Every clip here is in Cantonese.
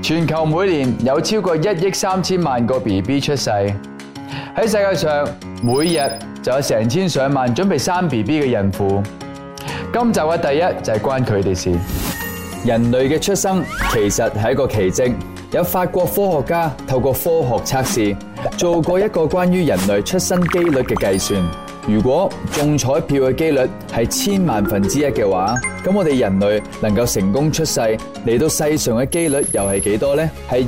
全球每年有超過1億3千萬個 BB 出世，喺世界上每日就有成千上萬準備生 BB 嘅孕婦。今集嘅第一就係關佢哋事。人類嘅出生其實係一個奇蹟，有法國科學家透過科學測試做過一個關於人類出生機率嘅計算。如果中彩票嘅機率係1000萬分之一嘅話，咁我哋人類能夠成功出世嚟到世上嘅機率又係幾多呢？係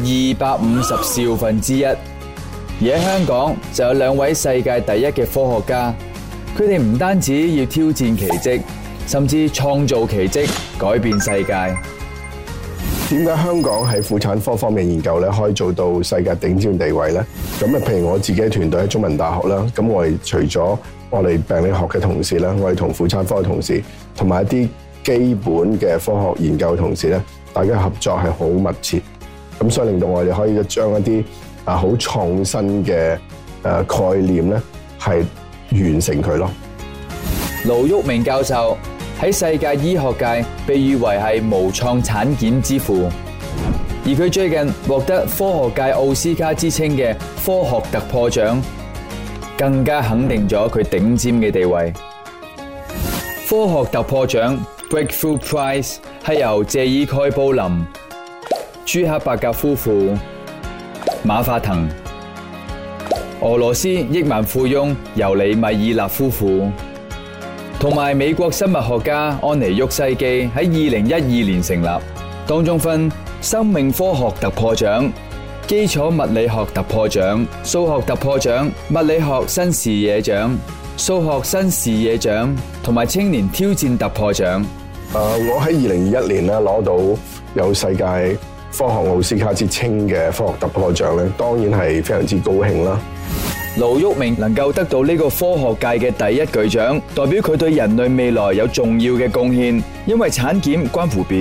250兆分之一。而喺香港就有2位世界第一嘅科學家，佢哋唔單止要挑戰奇蹟，甚至創造奇蹟，改變世界。 點解香港喺婦產科方面研究咧，可以做到世界頂尖地位咧？咁啊，譬如我自己嘅團隊喺中文大學啦，咁我哋除咗我哋病理學嘅同事啦，我哋同婦產科嘅同事，同埋一啲基本嘅科學研究嘅同事咧，大家合作係好密切，咁所以令到我哋可以將一啲好創新嘅概念咧，係完成佢咯。 盧煜明教授喺世界醫學界被譽為係無創產檢之父，而佢最近獲得科學界奧斯卡之稱嘅科學突破獎，更加肯定咗佢頂尖嘅地位。科學突破獎 Breakthrough Prize 係由謝爾蓋布林、朱克伯格夫婦、馬化騰、俄羅斯億萬富翁尤里米爾納夫婦同埋美國生物學家安妮沃西基喺2012年成立，當中分生命科學突破獎、基礎物理學突破獎、數學突破獎、物理學新視野獎、數學新視野獎同埋青年挑戰突破獎。 我喺2021年咧攞到有世界科學奧斯卡之稱嘅科學突破獎咧，當然係非常之高興啦。 盧煜明能夠得到呢個科學界嘅第一巨獎，代表佢對人類未來有重要嘅貢獻。因為產檢關乎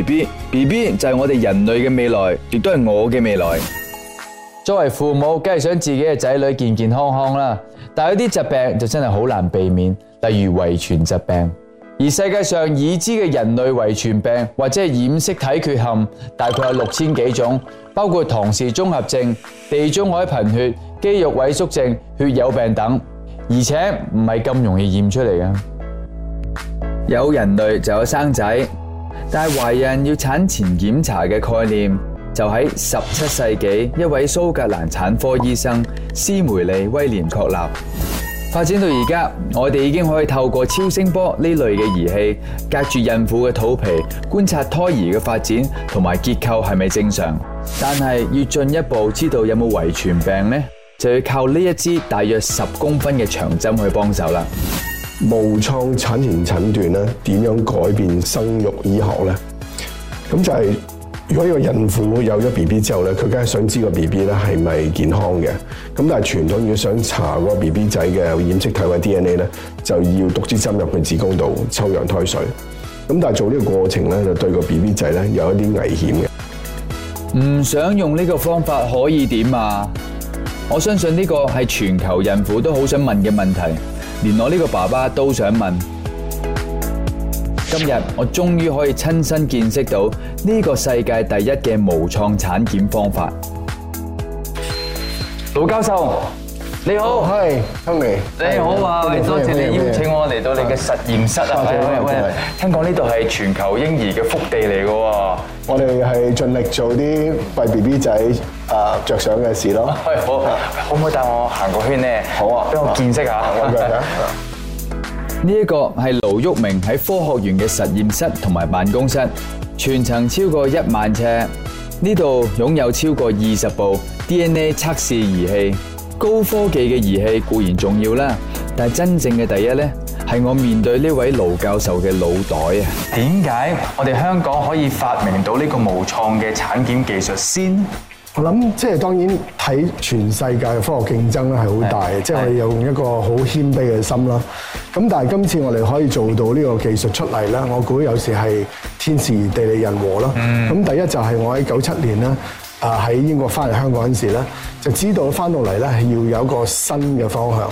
BB 就係我哋人類嘅未來，亦都係我嘅未來。作為父母，梗係想自己嘅仔女健健康康啦。但係有啲疾病就真係好難避免，例如遺傳疾病。而世界上已知嘅人類遺傳病或者係染色體缺陷，大概有6000幾種，包括唐氏綜合症、地中海貧血、肌肉萎縮症、血友病等，而且唔係咁容易驗出嚟嘅。有人類就有生仔，但係懷孕要產前檢查嘅概念，就喺17世紀一位蘇格蘭產科醫生斯梅利威廉確立。發展到而家，我哋已經可以透過超聲波呢類嘅儀器，隔住孕婦嘅肚皮，觀察胎兒嘅發展同埋結構係咪正常。但係要進一步知道有冇遺傳病呢，就要靠呢一支大約10公分嘅長針去幫手啦。 無創產前診斷咧，點樣改變生育醫學咧？咁就係如果一個孕婦有咗 BB 之後咧，佢梗係想知個 BB 咧係咪健康嘅。咁但係傳統如果想查個 BB 仔嘅染色體或者 DNA 咧，就要篤支針入去子宮度抽羊胎水。咁但係做呢個過程咧，就對個 BB 仔咧有一啲危險嘅。 唔想用呢個方法可以點啊？我相信呢個係全球孕婦都好想問嘅問題，連我呢個爸爸都想問。今日我終於可以親身見識到呢個世界第一嘅無創產檢方法。盧教授，你好。 係，Tony。 你好啊，多謝你邀請我嚟到你嘅實驗室啊！喂，聽講呢度係全球嬰兒嘅福地嚟嘅喎。 我哋係盡力做啲為 BB 仔着想嘅事咯。 係，好，可唔可以帶我行個圈呢？ 好啊， 俾我見識下。呢一個係盧煜明喺科學園嘅實驗室同埋辦公室，全層超過1萬尺。呢度擁有超過20部 DNA 測試儀器。高科技嘅儀器固然重要啦，但係真正嘅第一呢，係我面對呢位盧教授嘅腦袋啊！點解我哋香港可以發明到呢個無創嘅產檢技術先？ 我諗即係當然睇全世界嘅科學競爭咧係好大嘅，即係我哋有用一個好謙卑嘅心啦。咁但係今次我哋可以做到呢個技術出嚟咧，我估有時係天時地利人和啦。咁第一就係我喺97年咧，喺英國翻嚟香港嗰陣時咧，就知道翻到嚟咧係要有一個新嘅方向。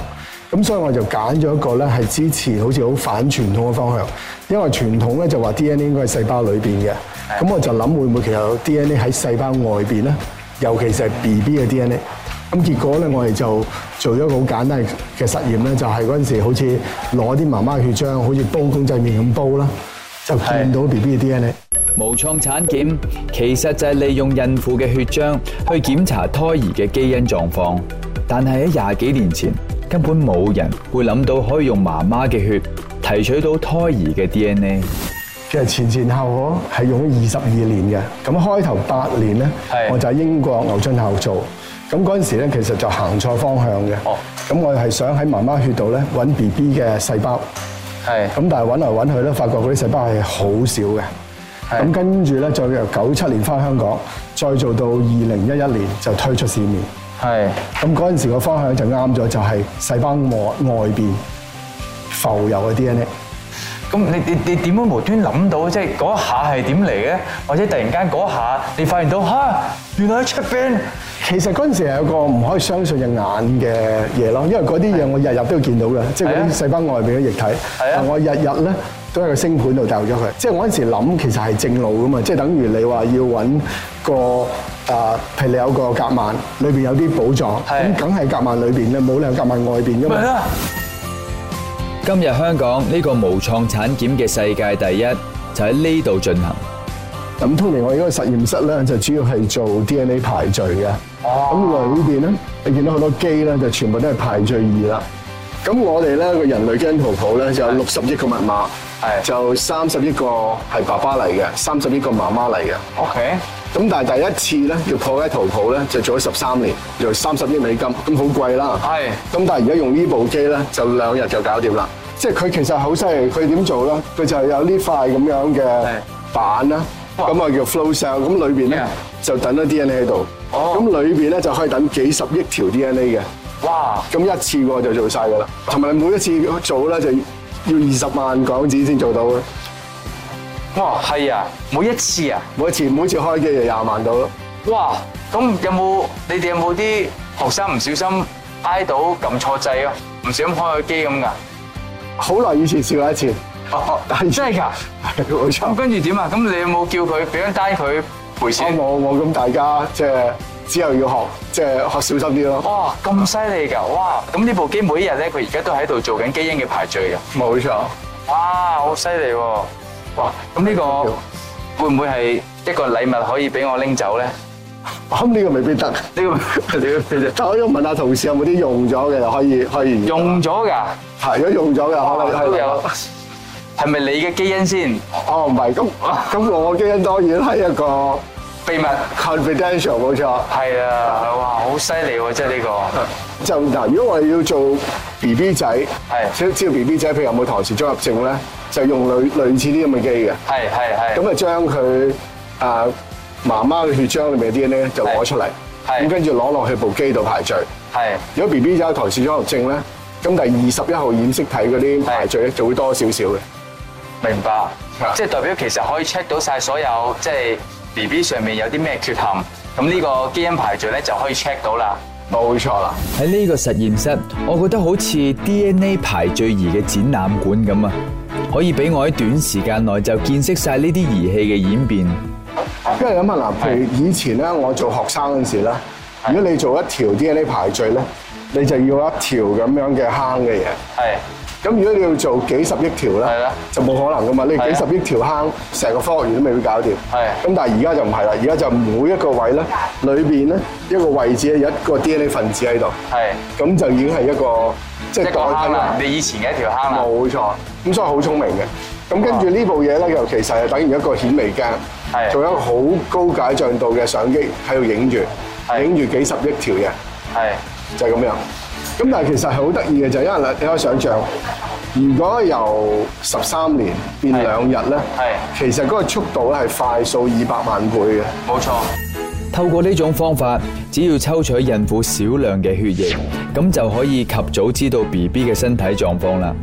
咁所以我就揀咗一個咧係支持好似好反傳統嘅方向，因為傳統咧就話 DNA 應該係細胞裏邊嘅，咁我就諗會唔會其實有 DNA 喺細胞外邊咧，尤其是係 BB 嘅 DNA。咁結果咧，我哋就做咗一個好簡單嘅實驗咧，就係嗰陣時好似攞啲媽媽嘅血漿，好似煲公仔麵咁煲啦，就見到 BB 嘅 DNA。 無創產檢其實就係利用孕婦嘅血漿去檢查胎兒嘅基因狀況，但係喺廿幾年前根本冇人會諗到可以用媽媽嘅血提取到胎兒嘅 DNA。 其實前後我係用咗22年嘅，咁開頭8年咧，我就喺英國牛津大學做。咁嗰陣時咧，其實就行錯方向嘅。咁我係想喺媽媽血度咧揾 BB 嘅細胞。咁但係揾嚟揾去咧，發覺嗰啲細胞係好少嘅。咁跟住咧，再由97年翻香港，再做到2011年就推出市面。咁嗰陣時個方向就啱咗，就係細胞外邊浮游嘅 DNA。 咁你點樣無端諗到，即係嗰一下係點嚟嘅？或者突然間嗰一下你發現到原來喺出邊？ 其實嗰陣時係有個唔可以相信隻眼嘅嘢咯，因為嗰啲嘢我日日都見到嘅，即係嗰啲細胞外邊嘅液體。但我日日咧都喺個星盤度掉咗佢。即係我嗰陣時諗，其實係正路噶嘛，即係等於你話要揾個譬如你有個夾萬，裏邊有啲寶藏，咁梗係夾萬裏邊咧，冇理由夾萬外邊噶嘛。 今日香港呢個無創產檢嘅世界第一就喺呢度進行。 咁通常我呢個實驗室咧就主要係做 DNA 排序嘅。咁裏邊咧，你見到好多基咧，就全部都係排序二啦。咁我哋咧個人類基因圖譜咧就有60億個密碼，就30億個係爸爸嚟嘅，30億個媽媽嚟嘅。 OK。 咁但係第一次咧要破解圖譜咧，就做咗13年，就30億美金，咁好貴啦。咁但係而家用呢部機咧，就2日就搞掂啦。即係佢其實好犀利，佢點做咧？佢就有呢塊咁樣嘅板啦，咁啊叫 flow cell， 咁裏邊咧就等咗 DNA 喺度。咁裏邊咧就可以等幾十億條 DNA 嘅。 哇！ 咁一次過就做晒㗎啦，同埋每一次做咧就要20萬港紙先做到嘅。 哇，係啊！每一次啊， 每一次開機就20萬到咯。 哇！咁你哋有冇啲學生唔小心挨到撳錯掣啊？唔小心開個機咁㗎？ 好耐以前試過一次。 但係真係㗎？ 係冇錯。 咁跟住點啊？咁你有冇叫佢俾張單佢賠錢？ 我咁大家即係之後要學，即係學小心啲咯。 哇！咁犀利㗎！哇！咁呢部機每一日咧，佢而家都喺度做緊基因嘅排序嘅。 冇錯。 哇！好犀利喎！哇！咁呢個會唔會係一個禮物可以俾我拎走咧？ 咁呢個未必得，呢個但我要問下同事有冇啲用咗嘅，就可以用咗㗎？ 係，如果用咗嘅，可能都有。係咪你嘅基因先？ 唔係，咁我嘅基因當然係一個秘密 confidential， 冇錯。 係啊，哇，好犀利喎！即係呢個。 就嗱，如果我哋要做 BB 仔，想知道 BB 仔譬如有冇唐氏綜合症咧，就用類似啲咁嘅機嘅。係。咁啊，將佢媽媽嘅血漿裏面嘅 DNA 就攞出嚟，咁跟住攞落去部機度排序。如果 BB 仔有唐氏綜合症咧，咁第21號染色體嗰啲排序咧就會多少少嘅。 明白，即係代表其實可以 check 到晒所有即係 BB 上面有啲咩缺陷，咁呢個基因排序咧就可以 check 到啦。 冇錯啦。 喺呢個實驗室，我覺得好似 DNA 排序儀嘅展覽館咁啊，可以俾我喺短時間內就見識晒呢啲儀器嘅演變。 因為諗下嗱，譬如以前咧，我做學生嗰陣時咧，如果你做一條 DNA 排序咧，你就要一條咁樣嘅坑嘅嘢。咁如果你要做幾十億條咧，就冇可能噶嘛。你幾十億條坑，成個科學園都未必搞掂。咁但係而家就唔係啦，而家就每一個位咧，裏邊咧一個位置有一個 DNA 分子喺度。咁就已經係一個即係代替啦。 你以前嘅一條坑啦。 冇錯。咁所以好聰明嘅。咁跟住呢部嘢咧，又其實係等於一個顯微鏡，做一個好高解像度嘅相機喺度影住幾十億條嘢。就係咁樣。咁但係其實係好得意嘅，就係因為你可以想象，如果由13年變2日咧，其實嗰個速度咧係快數200萬倍嘅。 冇錯。 透過呢種方法，只要抽取孕婦少量嘅血液，咁就可以及早知道 BB 嘅身體狀況啦。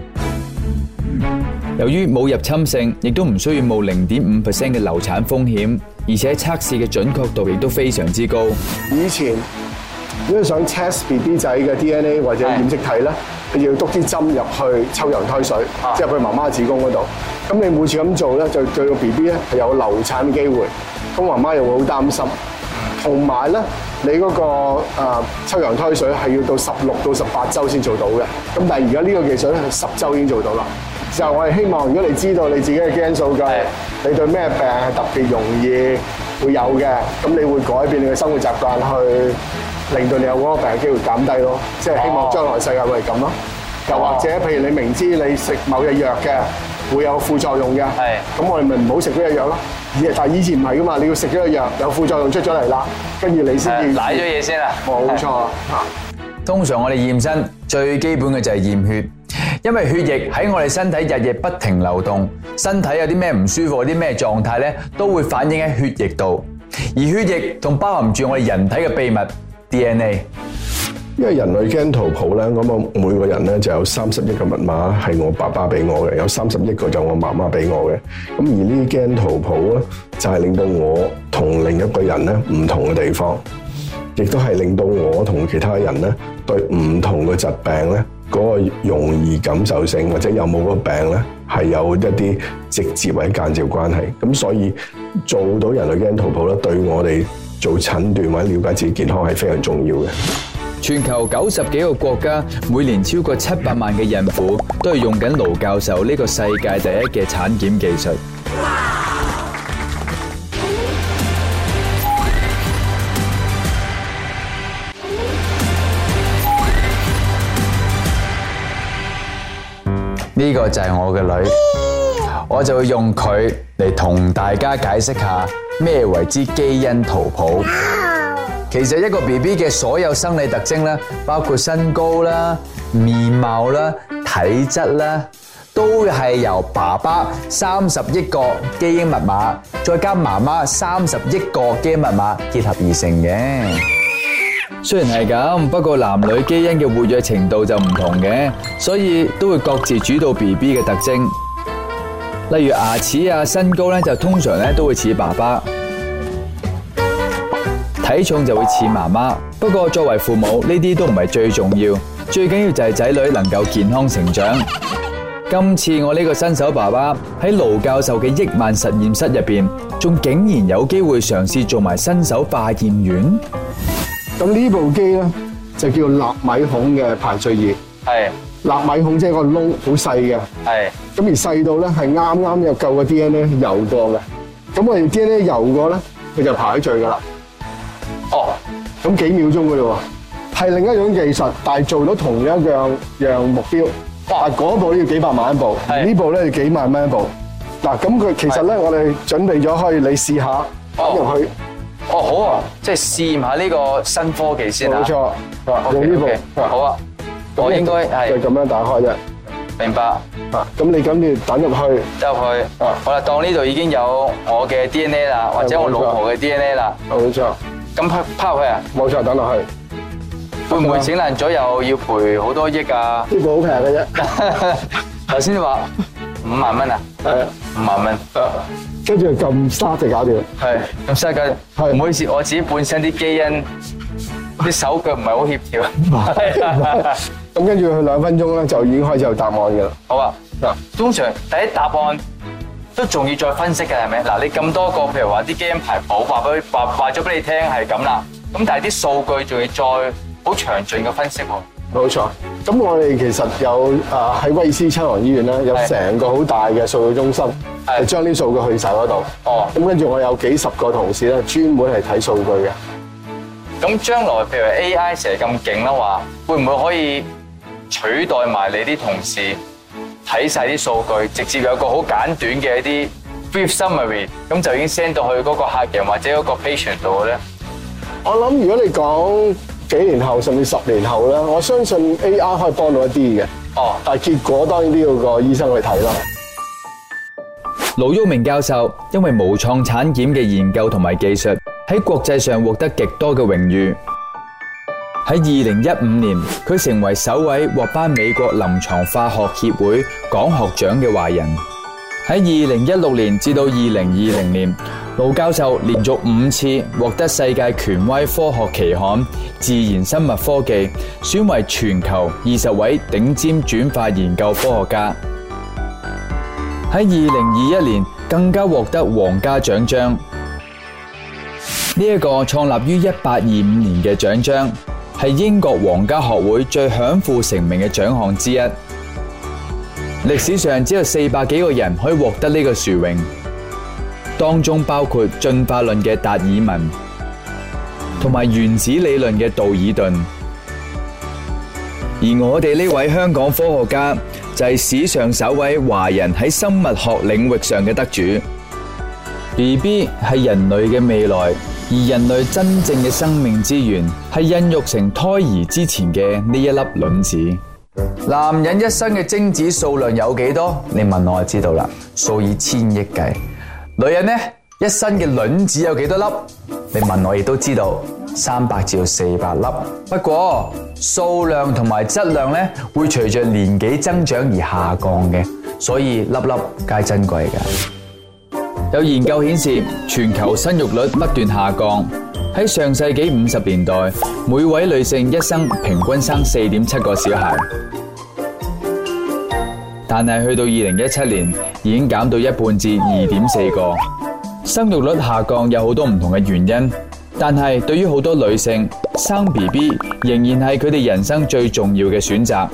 由於冇入侵性，亦都唔需要冒0.5% 嘅流產風險，而且測試嘅準確度亦都非常之高。 以前如果你想 test BB 仔嘅 DNA 或者染色體咧，你要篤啲針入去抽羊胎水，即係入去媽媽子宮嗰度。咁你每次咁做咧，就對個 BB 咧係有流產嘅機會，咁媽媽又會好擔心。同埋咧，你嗰個抽羊胎水係要到16到18週先做到嘅。咁但係而家呢個技術咧係10週已經做到啦。就我哋希望，如果你知道你自己嘅基因數據，你對咩病係特別容易會有嘅，咁你會改變你嘅生活習慣去令到你有嗰個病嘅機會減低咯。即係希望將來世界會係咁咯。又或者譬如你明知你食某隻藥嘅會有副作用嘅，咁我哋咪唔好食嗰隻藥咯。但係以前唔係噶嘛，你要食咗個藥有副作用出咗嚟啦，跟住你先至舐咗嘢先啦。 冇錯。 通常我哋驗身最基本嘅就係驗血，因為血液喺我哋身體日夜不停流動，身體有啲咩唔舒服、有啲咩狀態咧，都會反映喺血液度。而血液仲包含住我哋人體嘅秘密 DNA。 因為人類基因圖譜咧，咁我每個人咧就有30億個密碼係我爸爸俾我嘅，有30億個就我媽媽俾我嘅。咁而呢啲基因圖譜咧，就係令到我同另一個人咧唔同嘅地方，亦都係令到我同其他人咧對唔同嘅疾病咧嗰個容易感受性或者有冇嗰個病咧係有一啲直接或者間接關係。咁所以做到人類基因圖譜咧，對我哋做診斷或者了解自己健康係非常重要嘅。 全球90幾個國家，每年超過700萬嘅孕婦都係用緊盧教授呢個世界第一嘅產檢技術。呢個就係我嘅女，我就會用佢嚟同大家解釋下咩為之基因圖譜。其實一個 BB 嘅所有生理特徵咧，包括身高啦、面貌啦、體質啦，都係由爸爸30億個基因密碼，再加媽媽30億個基因密碼結合而成嘅。雖然係咁，不過男女基因嘅活躍程度就唔同嘅，所以都會各自主導 BB 嘅特徵。例如牙齒啊、身高咧，就通常咧都會似爸爸。體重就會似媽媽，不過作為父母呢啲都唔係最重要，最緊要就係仔女能夠健康成長。今次我呢個新手爸爸喺盧教授嘅億萬實驗室入邊，仲竟然有機會嘗試做埋新手化驗員。 咁呢部機咧就叫納米孔嘅排序儀。 係納米孔即係個窿好細嘅。 係咁而細到咧係啱啱有夠個 DNA 游過嘅。咁我哋 DNA 游過咧，佢就排序噶啦。 哦， 咁幾秒鐘噶嘞喎，係另一種技術，但係做到同一樣目標。但係嗰部要幾百萬一部，呢部咧要幾萬蚊一部。嗱，咁佢其實咧，我哋準備咗可以你試下擺入去。 哦，好啊，即係試驗下呢個新科技先啊。 冇錯，用呢部。 好啊，我應該係就咁樣打開啫。 明白。 咁你跟住等入去。 入去。好啦，當呢度已經有我嘅 DNA 啦，或者我老婆嘅 DNA 啦。 冇錯。 咁拋入去啊？ 冇錯，等落去。 會唔會整爛咗又要賠好多億啊？ 呢部好平嘅啫。 頭先話5萬蚊啊？ 係啊 ，5萬蚊。 跟住撳start就搞掂。 係，咁嘥緊。 係。 唔好意思，我自己本身啲基因啲手腳唔係好協調。 咁跟住佢2分鐘咧，就已經開始有答案嘅啦。 好啊。嗱，通常第一答案都仲要再分析嘅係咪？嗱，你咁多個，譬如話啲基因排譜話咗俾你聽係咁啦，咁但係啲數據仲要再好詳盡嘅分析喎。 冇錯。咁我哋其實有喺威爾斯親王醫院咧，有成個好大嘅數據中心，係將啲數據去晒嗰度。 哦。咁跟住我有幾十個同事咧，專門係睇數據嘅。 咁將來譬如 AI 成日咁勁啦話，會唔會可以取代埋你啲同事睇晒啲數據，直接有個好簡短嘅一啲 brief summary， 咁就已經 send 到去嗰個客人或者嗰個 patient 度咧？ 我諗如果你講幾年後甚至10年後咧，我相信 AI 可以幫到一啲嘅。哦。但係結果當然都要個醫生去睇啦。 盧煜明教授因為無創產檢嘅研究同埋技術，喺國際上獲得極多嘅榮譽。喺2015年，佢成為首位獲頒美國臨床化學協會講學獎嘅華人。喺2016年至到2020年， 盧教授連續5次獲得世界權威科學期刊《自然生物科技》選為全球20位頂尖轉化研究科學家。喺2021年更加獲得皇家獎章。呢一個創立於1825年嘅獎章，係英國皇家學會最享負盛名嘅獎項之一。歷史上只有400幾個人可以獲得呢個殊榮，當中包括進化論嘅達爾文，同埋原子理論嘅道爾頓。而我哋呢位香港科學家就係史上首位華人喺生物學領域上嘅得主。BB 係人類嘅未來，而人類真正嘅生命之源係孕育成胎兒之前嘅呢一粒卵子。男人一生嘅精子數量有幾多？你問我就知道啦，數以千億計。女人呢，一生嘅卵子有幾多粒？你問我亦都知道，300至400粒。不過數量同埋質量呢，會隨着年紀增長而下降嘅，所以粒粒皆珍貴嘅。有研究顯示，全球生育率不斷下降。喺上世紀50年代，每位女性一生平均生4.7個小孩，但係去到2017年已經減到一半至2.4個。生育率下降有好多唔同嘅原因，但係對於好多女性，生 BB 仍然係佢哋人生最重要嘅選擇。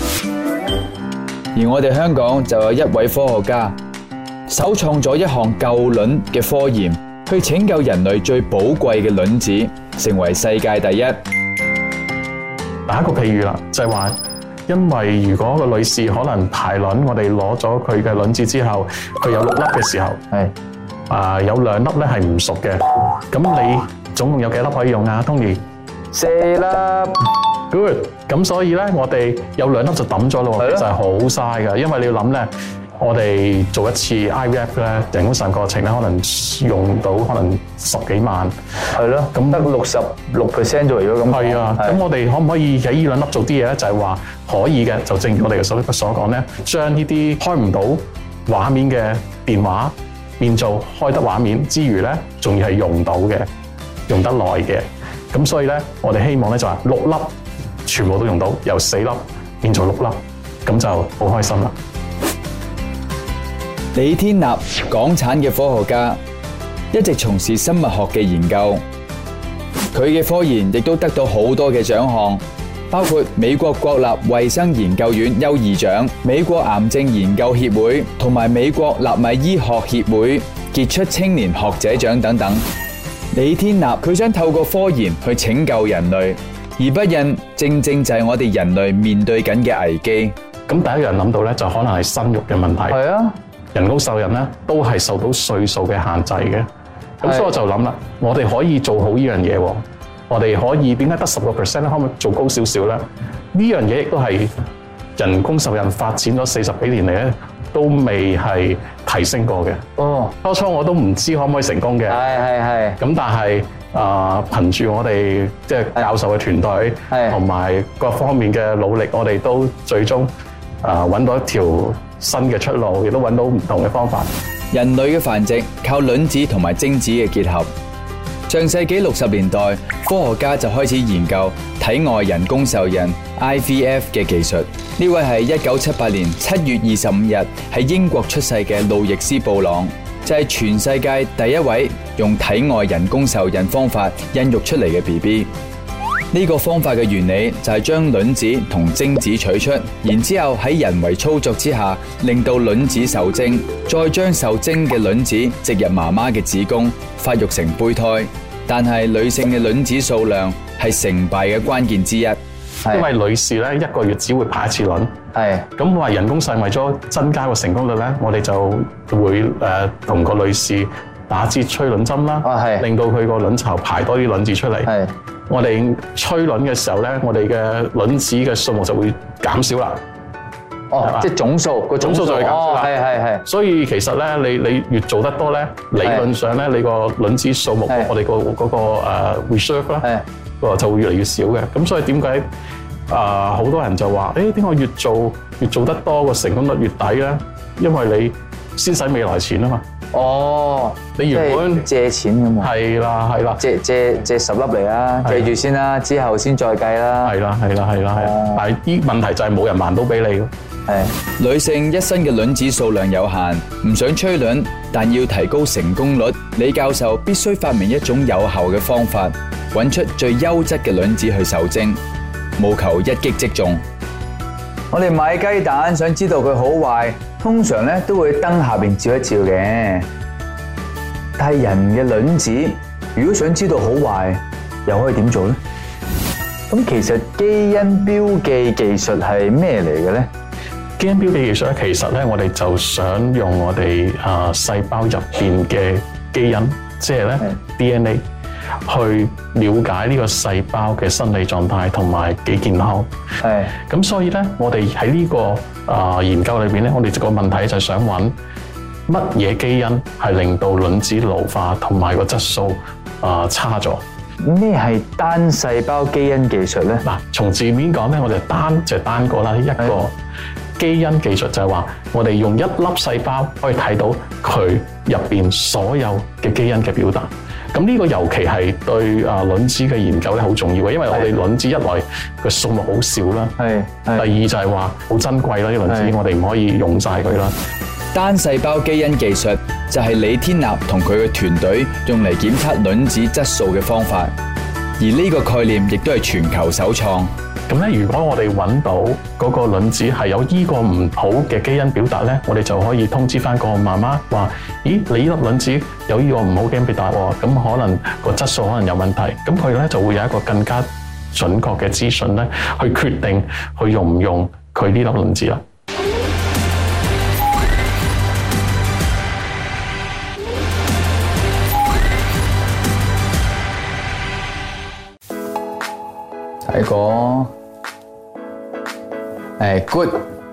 而我哋香港就有一位科學家，首創咗一項救卵嘅科研，去拯救人類最寶貴嘅卵子，成為世界第一。 打一個譬喻啦，就係話，因為如果個女士可能排卵，我哋攞咗佢嘅卵子之後，佢有6粒嘅時候，有2粒咧係唔熟嘅，咁你總共有幾粒可以用啊 ，Tony？ 4粒。 Good。咁所以咧，我哋有2粒就抌咗咯，其實係好嘥㗎，因為你要諗咧。我哋做一次 IVF 咧，人工受孕過程咧，可能用到可能10幾萬。 係咯，咁得66%就嚟咗咁。 係啊，咁我哋可唔可以喺呢2粒做啲嘢咧？就係話可以嘅，就正如我哋所講咧，將呢啲開唔到畫面嘅電話變做開得畫面之餘咧，仲要係用到嘅，用得耐嘅。咁所以咧，我哋希望咧就話6粒全部都用到，由4粒變做6粒，咁就好開心啦。 李天立，港產嘅科學家，一直從事生物學嘅研究。佢嘅科研亦都得到好多嘅獎項，包括美國國立衛生研究院優異獎、美國癌症研究協會同埋美國納米醫學協會傑出青年學者獎等等。李天立佢想透過科研去拯救人類，而不孕正正就係我哋人類面對緊嘅危機。 咁第一樣諗到咧，就可能係生育嘅問題。 係啊。 人工受孕咧都係受到歲數嘅限制嘅，咁所以我就諗啦，我哋可以做好呢樣嘢喎，我哋可以點解得10%咧？可唔可以做高少少咧？呢樣嘢亦都係人工受孕發展咗40幾年嚟咧，都未係提升過嘅。 哦， 初初我都唔知可唔可以成功嘅。 係。咁但係憑住我哋即係教授嘅團隊同埋各方面嘅努力，我哋都最終揾到一條新嘅出路，亦都揾到唔同嘅方法。 人類嘅繁殖靠卵子同埋精子嘅結合。上世紀60年代，科學家就開始研究體外人工受孕 IVF 嘅技術。呢位係1978年7月25日喺英國出世嘅路易斯布朗，就係全世界第一位用體外人工受孕方法孕育出嚟嘅 BB。呢個方法嘅原理就係將卵子同精子取出，然之後喺人為操作之下，令到卵子受精，再將受精嘅卵子植入媽媽嘅子宮，發育成胚胎。但係女性嘅卵子數量係成敗嘅關鍵之一， 因為女士咧1個月只會排1次卵。 係咁話人工受孕為咗增加個成功率咧，我哋就會同個女士打支催卵針啦，令到佢個卵巢排多啲卵子出嚟。係我哋催卵嘅時候咧，我哋嘅卵子嘅數目就會減少啦。 哦，即係總數個總數就會減少啦。係。所以其實咧，你越做得多咧，理論上咧，你個卵子數目，我哋嗰個reserve 咧，就會越嚟越少嘅。咁所以點解好多人就話，點解越做得多個成功率越低咧？因為你先使未來錢啊嘛。 哦， 你原本借錢咁喎。 係啦， 借10粒嚟啦，借住先啦，之後先再計啦。 係啦，但係啲問題就係冇人還到俾你咯。 係女性一身嘅卵子數量有限，唔想催卵，但要提高成功率，李教授必須發明一種有效嘅方法，揾出最優質嘅卵子去受精，務求一擊即中。我哋買雞蛋，想知道佢好壞，通常咧都會燈下邊照一照嘅。但係人嘅卵子，如果想知道好壞，又可以點做呢？咁其實基因標記技術係咩嚟嘅呢？ 基因標記技術咧，其實咧我哋就想用我哋細胞入邊嘅基因，即係咧 DNA。去了解呢個細胞嘅生理狀態同埋幾健康。係。咁所以咧，我哋喺呢個研究裏邊咧，我哋個問題就係想揾乜嘢基因係令到卵子老化同埋個質素差咗。 咩係單細胞基因技術咧？ 嗱，從字面講咧，我哋單個啦，一個基因技術就係話，我哋用一粒細胞可以睇到佢入邊所有嘅基因嘅表達。咁呢個尤其係對卵子嘅研究咧好重要嘅，因為我哋卵子一來個數目好少啦，第二就係話好珍貴啦，啲卵子我哋唔可以用晒佢啦。 單細胞基因技術就係李天立同佢嘅團隊用嚟檢測卵子質素嘅方法，而呢個概念亦都係全球首創。 咁咧，如果我哋揾到嗰個卵子係有依個唔好嘅基因表達咧，我哋就可以通知翻個媽媽話：咦，你呢粒卵子有依個唔好基因表達喎，咁可能個質素可能有問題。咁佢咧就會有一個更加準確嘅資訊咧，去決定去用唔用佢呢粒卵子啦。 睇過。good，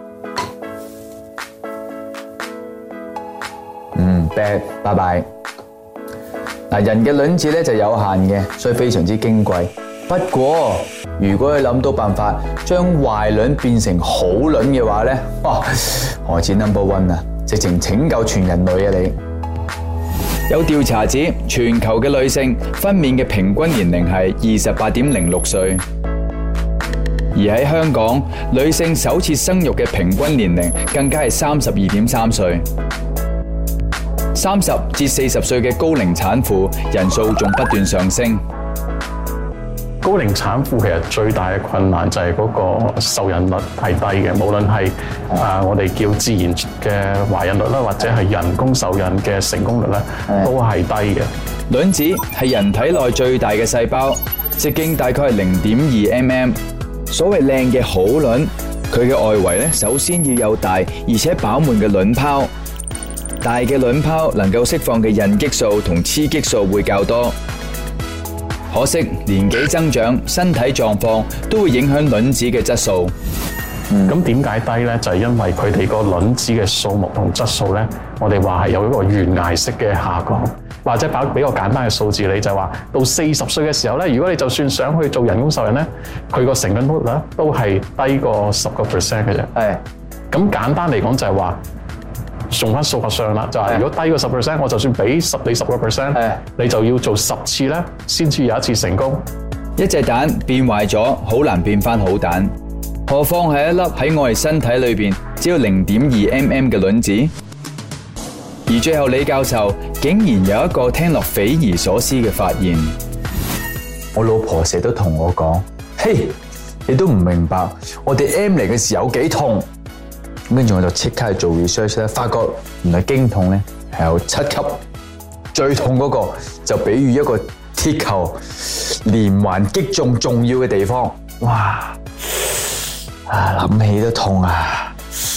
bad， 拜拜。嗱，人嘅卵子咧就有限嘅，所以非常之矜貴。不過，如果你諗到辦法將壞卵變成好卵嘅話咧，哇，何止 No.1 啊，直情拯救全人類啊你！有調查指，全球嘅女性分娩嘅平均年齡係28.06歲。而喺香港，女性首次生育嘅平均年齡更加係32.3歲。30至40歲嘅高齡產婦人數仲不斷上升。 高齡產婦其實最大嘅困難就係嗰個受孕率係低嘅，無論係我哋叫自然嘅懷孕率啦，或者係人工受孕嘅成功率咧，都係低嘅。 卵子係人體內最大嘅細胞，直徑大概係0.2 mm。所謂靚嘅好卵，佢嘅外圍咧，首先要有大而且飽滿嘅卵泡。大嘅卵泡能夠釋放嘅孕激素同雌激素會較多。可惜年紀增長、身體狀況都會影響卵子嘅質素。 咁點解低呢？就係因為佢哋個卵子嘅數目同質素呢，我哋話係有一個懸崖式嘅下降。或者俾個簡單嘅數字你，就係話到40歲嘅時候咧，如果你就算想去做人工受孕咧，佢個成功率咧都係低過10% 嘅啫。係。咁簡單嚟講就係話，用翻數學上啦，就係如果低過10%，我就算俾你10%，你就要做10次咧，先至有一次成功。 一隻蛋變壞咗，好難變翻好蛋，何況係一粒喺我哋身體裏邊只有0.2 mm 嘅卵子。而最後李教授竟然有一個聽落匪夷所思嘅發現。我老婆成日都同我講：嘿，你都唔明白我哋 M 嚟嘅時候有幾痛。咁跟住我就即刻去做 research 咧，發覺原來經痛咧係有7級，最痛嗰個就比喻一個鐵球連環擊中重要嘅地方。哇！諗起都痛啊！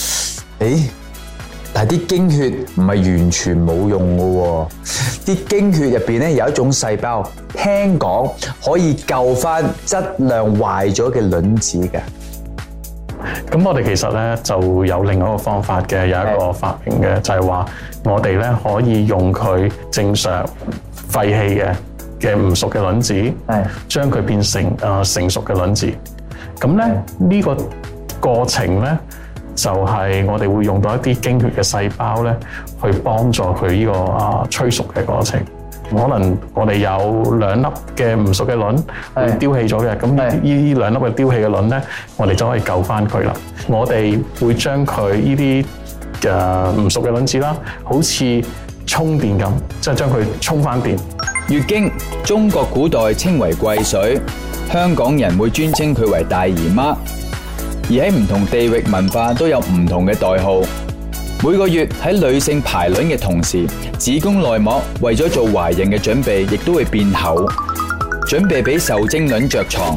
但係啲經血唔係完全冇用嘅喎，啲經血入邊咧有一種細胞，聽講可以救翻質量壞咗嘅卵子嘅。 咁我哋其實咧就有另外一個方法嘅，有一個發明嘅，就係話我哋咧可以用佢正常廢棄嘅唔熟嘅卵子，將佢變成成熟嘅卵子。咁咧呢個過程咧， 就係我哋會用到一啲經血嘅細胞咧，去幫助佢呢個催熟嘅過程。可能我哋有2粒嘅唔熟嘅卵會丟棄咗嘅，咁呢2粒嘅丟棄嘅卵咧，我哋就可以救翻佢啦。我哋會將佢呢啲唔熟嘅卵子啦，好似充電咁，即係將佢充翻電。 月經，中國古代稱為癸水，香港人會尊稱佢為大姨媽，而喺唔同地域文化都有唔同嘅代號。每個月喺女性排卵嘅同時，子宮內膜為咗做懷孕嘅準備，亦都會變厚，準備俾受精卵着床。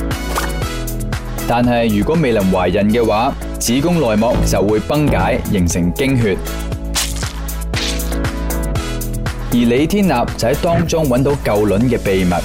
但係如果未能懷孕嘅話，子宮內膜就會崩解，形成經血。而李天立就喺當中揾到救卵嘅秘密。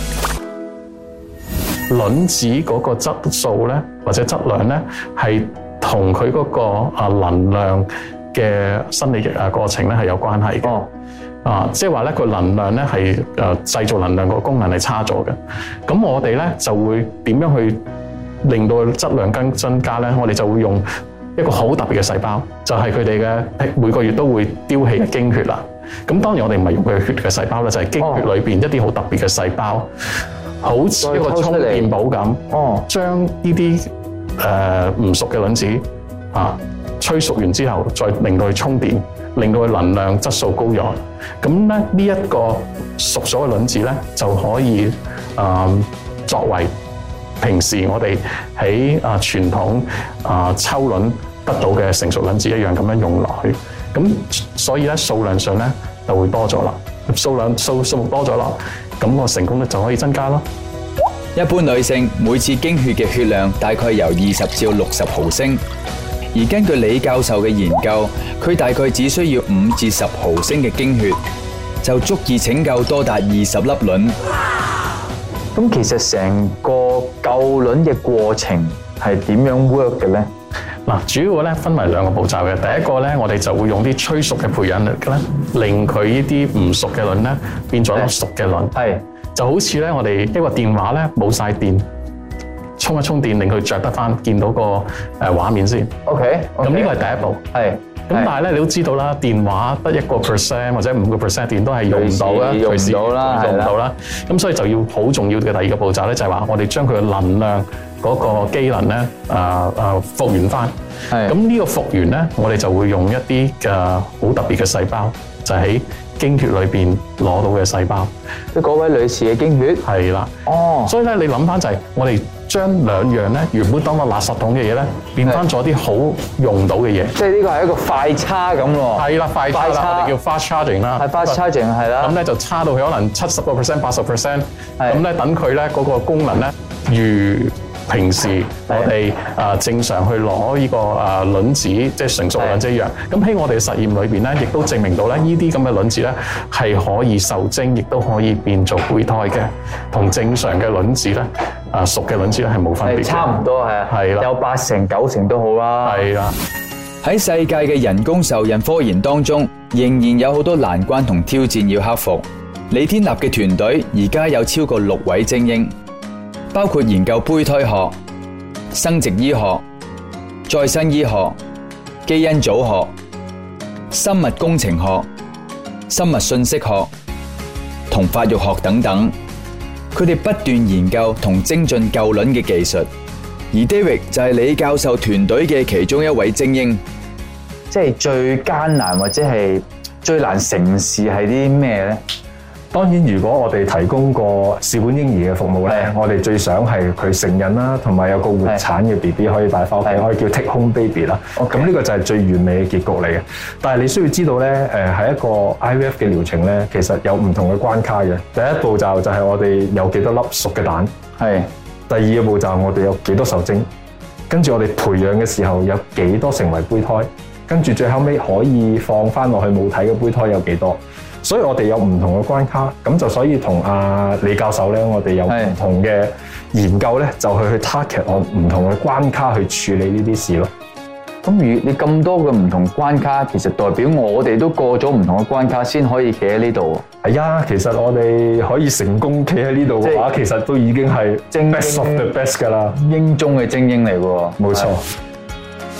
卵子嗰個質素咧，或者質量咧，係同佢嗰個能量嘅生理過程咧係有關係嘅。即係話咧，佢能量咧係製造能量個功能係差咗嘅。咁我哋咧就會點樣去令到質量增加咧？我哋就會用一個好特別嘅細胞，就係佢哋嘅每個月都會丟棄嘅經血啦。咁當然我哋唔係用佢嘅血嘅細胞啦，就係經血裏邊一啲好特別嘅細胞，好似一個充電寶咁，將呢啲唔熟嘅卵子催熟完之後，再令到佢充電，令到佢能量質素高咗。咁咧呢一個熟咗嘅卵子咧，就可以作為平時我哋喺傳統抽卵得到嘅成熟卵子一樣咁樣用落去。咁所以咧數量上咧就會多咗啦，數目多咗啦，咁個成功率就可以增加咯。 一般女性每次經血嘅血量大概由20至60毫升，而根據李教授嘅研究，佢大概只需要5至10毫升嘅經血，就足以拯救多達20粒卵。 咁其實成個救卵嘅過程係點樣 work 嘅咧？ 嗱，主要咧分為2個步驟嘅。第一個咧，我哋就會用啲催熟嘅培養液咧，令佢呢啲唔熟嘅卵咧變咗熟嘅卵。係就好似咧，我哋一個電話咧冇晒電，充一充電，令佢着得翻，見到個畫面先。OK，咁呢個係第一步。係。咁但係咧，你都知道啦，電話得1% 或者5% 電都係用唔到啦，隨時用唔到啦。咁所以就要好重要嘅第2個步驟咧，就係話我哋將佢嘅能量嗰個機能咧復原翻。咁呢個復原咧，我哋就會用一啲好特別嘅細胞，就喺經血裏邊攞到嘅細胞。 即係嗰位女士嘅經血。係啦。所以咧，你諗翻就係我哋將2樣咧原本當個垃圾桶嘅嘢咧，變翻咗啲好用到嘅嘢。即係呢個係一個快叉咁喎。係啦，快叉啦，我哋叫 fast charging 啦。係 fast charging 係啦。咁咧就叉到佢可能70%、80%。咁咧等佢咧嗰個功能咧，如平時我哋正常去攞呢個卵子，即係成熟卵子一樣。咁喺我哋實驗裏邊咧，亦都證明到咧，呢啲咁嘅卵子咧係可以受精，亦都可以變做胚胎嘅，同正常嘅卵子咧熟嘅卵子咧係冇分別嘅。差唔多係啊，係啦，有8成、9成都好啦。係啦。 喺世界嘅人工受孕科研當中，仍然有好多難關同挑戰要克服。李天立嘅團隊而家有超過6位精英，包括研究胚胎學、生殖醫學、再生醫學、基因組學、生物工程學、生物信息學同發育學等等。佢哋不斷研究同精進救卵嘅技術，而 David 就係李教授團隊嘅其中一位精英。 即係最艱難或者係最難成事係啲咩咧？ 當然，如果我哋提供個試管嬰兒嘅服務咧，我哋最想係佢成人啦，同埋有個活產嘅 BB 可以帶翻屋企，可以叫 take home baby 啦。咁呢個就係最完美嘅結局嚟嘅。但係你需要知道咧，係一個 IVF 嘅療程咧，其實有唔同嘅關卡嘅。第一步驟就係我哋有幾多粒熟嘅蛋，第2個步驟我哋有幾多受精，跟住我哋培養嘅時候有幾多成為胚胎，跟住最後尾可以放翻落去母體嘅胚胎有幾多。所以我哋有唔同嘅關卡，咁就所以同李教授咧，我哋有唔同嘅研究咧，就去 target 我唔同嘅關卡去處理呢啲事咯。 咁你咁多嘅唔同關卡，其實代表我哋都過咗唔同嘅關卡先可以企喺呢度。 係啊，其實我哋可以成功企喺呢度嘅話，其實都已經係 best of the best 㗎啦， 英中嘅精英嚟喎。 冇錯。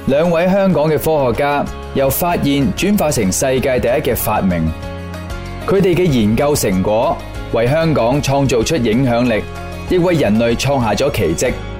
兩位香港嘅科學家由發現轉化成世界第一嘅發明，佢哋嘅研究成果為香港創造出影響力，亦為人類創下咗奇蹟。